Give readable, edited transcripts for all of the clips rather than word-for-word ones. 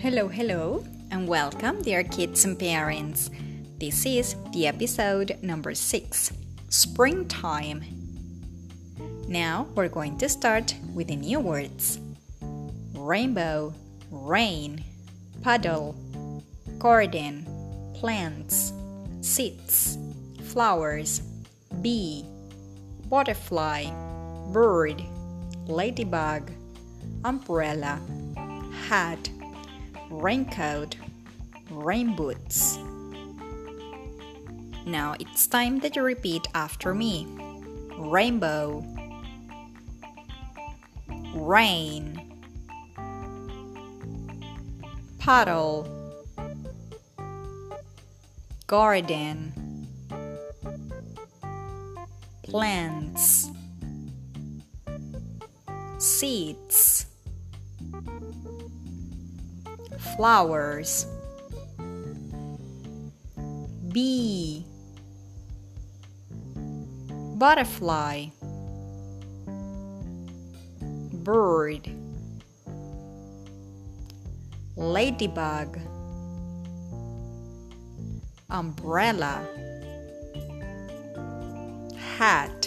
Hello, and welcome, dear kids and parents. This is the episode number 6, Springtime. Now we're going to start with the new words: rainbow, rain, puddle, garden, plants, seeds, flowers, bee, butterfly, bird, ladybug, umbrella, hat, raincoat, rain boots. Now it's time that you repeat after me. Rainbow, rain, puddle, garden, plants, seeds, flowers, bee, butterfly, bird, ladybug, umbrella, hat,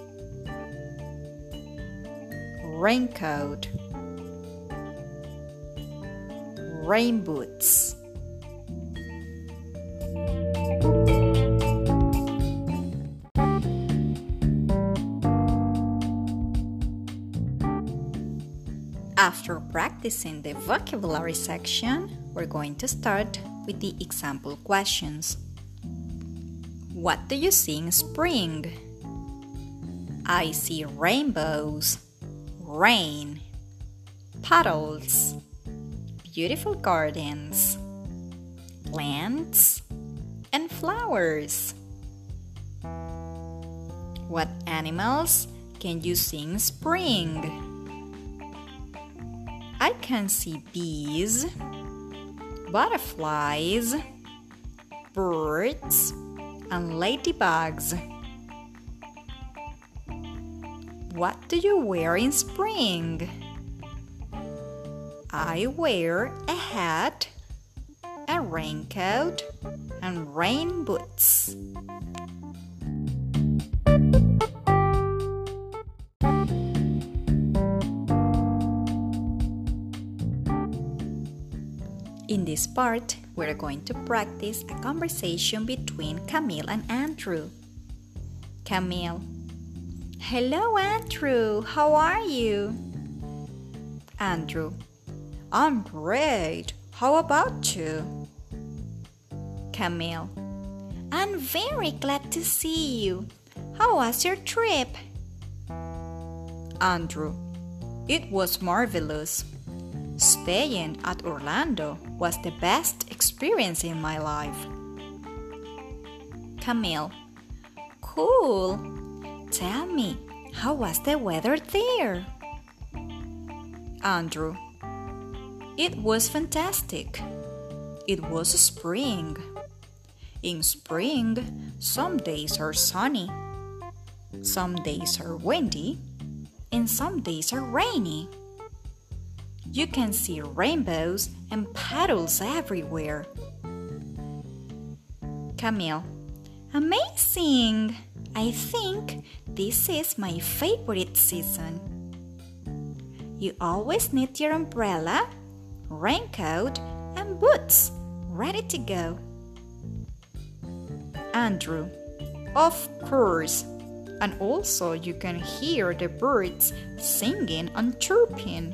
raincoat, rain boots. After practicing the vocabulary section, we're going to start with the example questions. What do you see in spring? I see rainbows, rain, puddles, beautiful gardens, plants, and flowers. What animals can you see in spring? I can see bees, butterflies, birds, and ladybugs. What do you wear in spring? I wear a hat, a raincoat, and rain boots. In this part, we're going to practice a conversation between Camille and Andrew. Camille: Hello, Andrew. How are you? Andrew: I'm great. How about you? Camille: I'm very glad to see you. How was your trip? Andrew: It was marvelous. Staying at Orlando was the best experience in my life. Camille: Cool. Tell me, how was the weather there? Andrew: It was fantastic. It was spring. In spring, some days are sunny, some days are windy, and some days are rainy. You can see rainbows and puddles everywhere. Camille: Amazing! I think this is my favorite season. You always need your umbrella, raincoat, and boots ready to go. Andrew: Of course. And also you can hear the birds singing and chirping.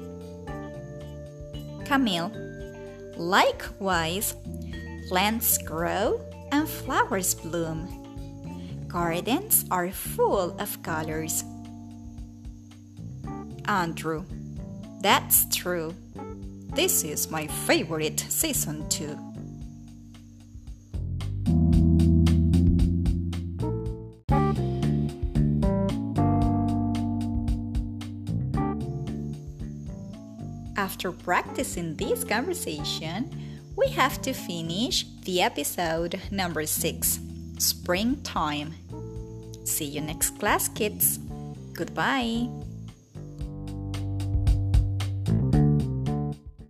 Camille: Likewise, plants grow and flowers bloom. Gardens are full of colors. Andrew: That's true. This is my favorite season too. After practicing this conversation, we have to finish the episode number 6, Springtime. See you next class, kids. Goodbye.